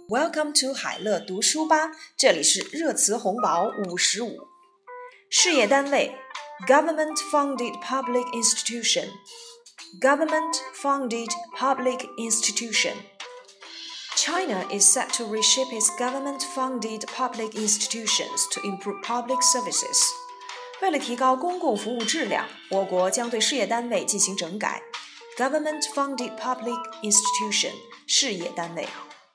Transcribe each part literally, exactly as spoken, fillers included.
Welcome to 海乐读书吧，这里是热词红宝五十五。事业单位 Government-funded public institution Government-funded public institution China is set to reshape its government-funded public institutions to improve public services. 为了提高公共服务质量，我国将对事业单位进行整改。Government-funded public institution 事业单位。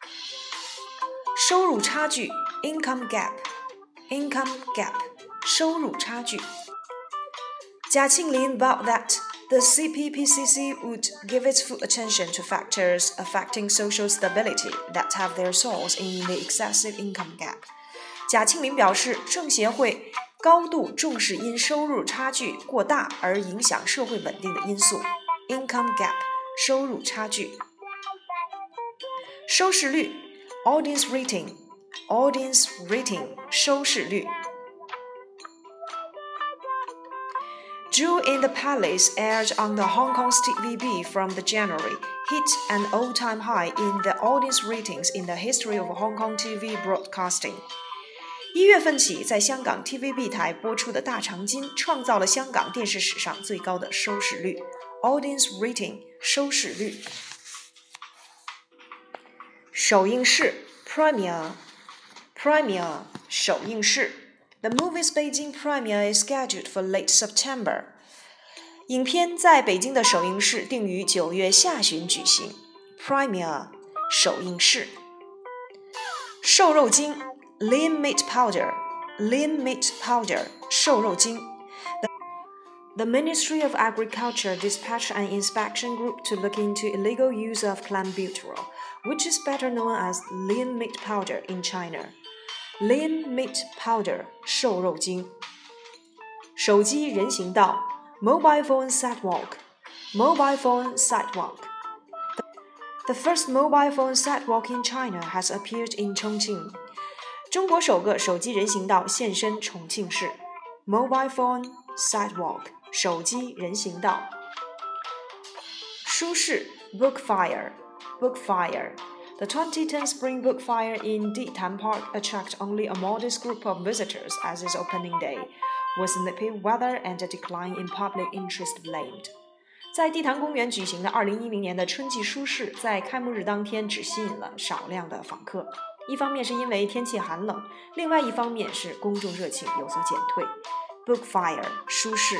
收入差距 Income gap Income gap 收入差距。贾庆林 vowed that the C P P C C would give its full attention to factors affecting social stability that have their source in the excessive income gap. 贾庆林表示，政协会高度重视因收入差距过大而影响社会稳定的因素。Income gap 收入差距。收视率 Audience rating Audience rating 收视率。Jewel in the Palace aired on the Hong Kong's T V B from the January, hit an all-time high in the audience ratings in the history of Hong Kong T V broadcasting. 一月份起，在香港 T V B 台播出的《大长今》创造了香港电视史上最高的收视率。Audience rating 收视率。首映式 Premiere Premiere 首映式。The movie's Beijing premiere is scheduled for late September. 影片在北京的首映式定于九月下旬举行。Premiere 首映式。瘦肉精 Lean meat powder Lean meat powder 瘦肉精。The Ministry of Agriculture dispatched an inspection group to look into illegal use of clenbuterol, which is better known as lean meat powder in China.Lean meat powder 瘦肉精。手机人行道 Mobile phone sidewalk Mobile phone sidewalk The first mobile phone sidewalk in China has appeared in Chongqing. 中国首个手机人行道现身重庆市。Mobile phone sidewalk 手机人行道。书市 Book fire Book fire The twenty ten Spring Book Fair in Ditan Park attracted only a modest group of visitors as its opening day, with nippy weather and a decline in public interest blamed. 在地坛公园举行的二零一零年的春季书市，在开幕日当天只吸引了少量的访客。一方面是因为天气寒冷，另外一方面是公众热情有所减退。Book Fair 书市。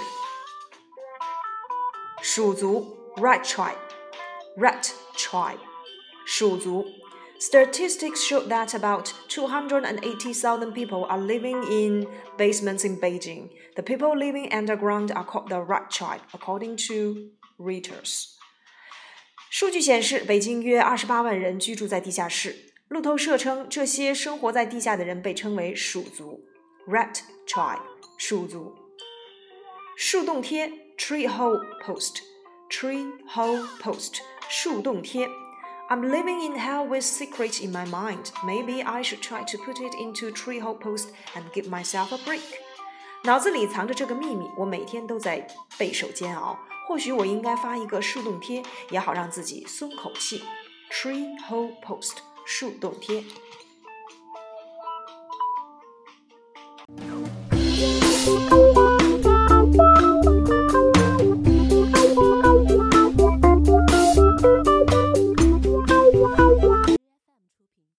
蜀族 Rat Tribe Rat Tribe蜀族 Statistics show that about two hundred eighty thousand people are living in basements in Beijing. The people living underground are called the Rat Tribe, according to Reuters. 数据显示，北京约二十八万人居住在地下室。路透社称，这些生活在地下的人被称为蜀族 Rat Tribe 蜀族。树洞贴 Tree hole post Tree hole post 树洞贴。I'm living in hell with secrets in my mind. Maybe I should try to put it into treehole post and give myself a break. 脑子里藏着这个秘密，我每天都在备受煎熬。或许我应该发一个树洞贴，也好让自己松口气。Treehole post 树洞贴。